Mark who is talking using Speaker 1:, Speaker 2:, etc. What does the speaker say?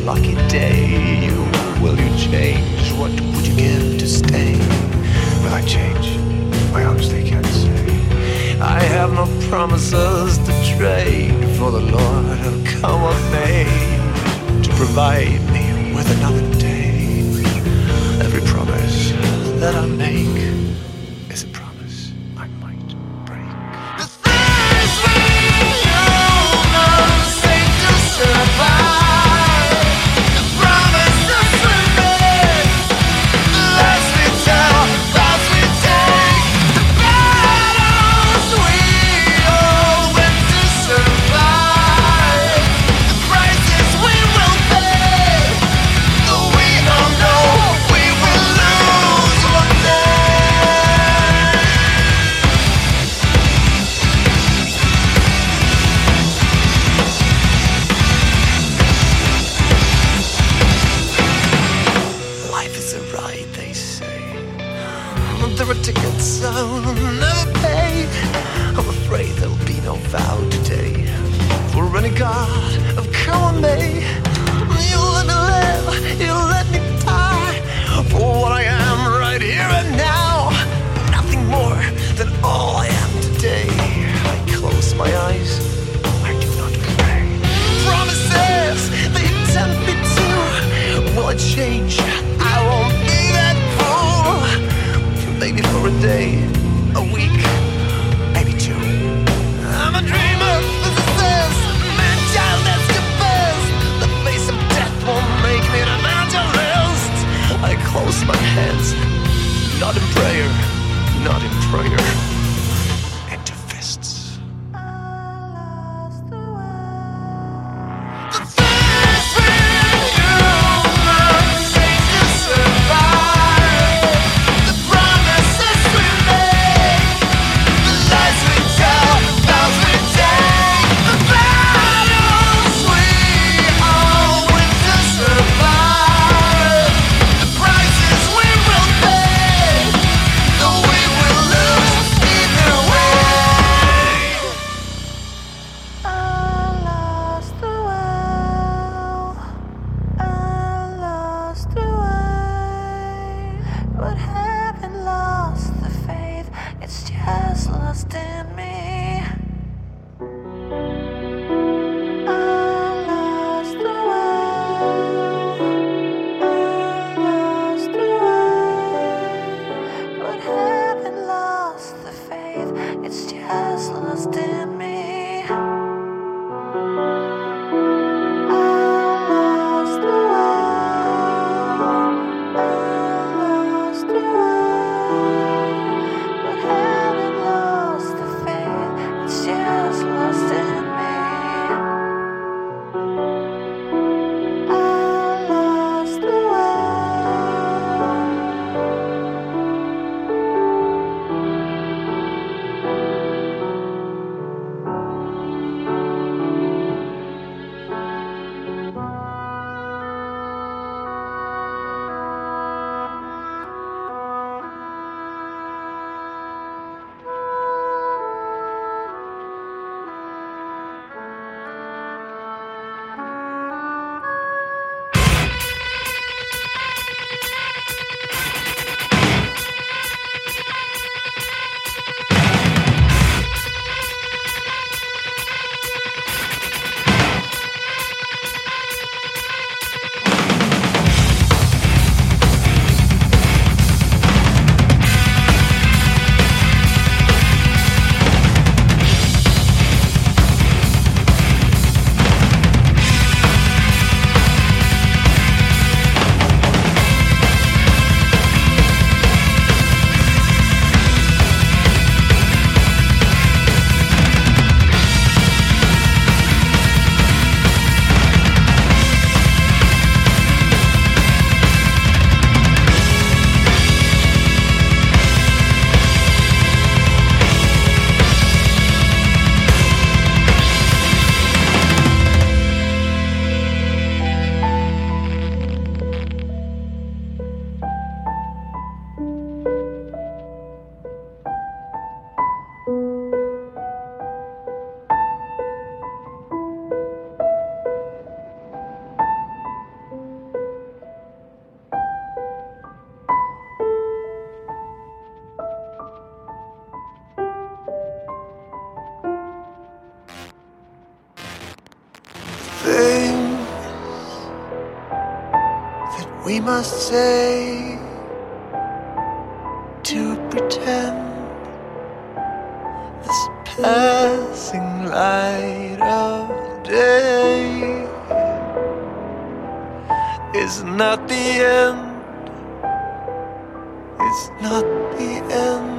Speaker 1: lucky day. Will you change? What would you give to stay? Will I change? I honestly can't say. I have no promises to trade for the Lord will come what may to provide me with another day. Every promise that I make is a promise I might break. The things we humans say to survive, the promises we make, the lies we tell, vows we take, the battles we all went to survive, the prices we will pay, though we all know we will lose one day. Life is a ride, they say. There are tickets I'll never pay. I'm afraid there'll be no vow today. For any god of come may, you let me live, you let me die. For what I am right here and now, nothing more than all I am today. I close my eyes, I do not pray. Promises, they tempt me to. Will I change? I won't be that fool. Maybe for a day, a week, maybe two. I'm a dreamer, physicist, man-child escapist. The face of death won't make me an evangelist. I close my hands, not in prayer, not in prayer, into fists. The things we humans say to survive, the promises we make, the lies we tell, vows we take, the battles we all went to survive, the prices we will pay, though we will lose we must say to pretend this passing light of day is not the end, it's not the end.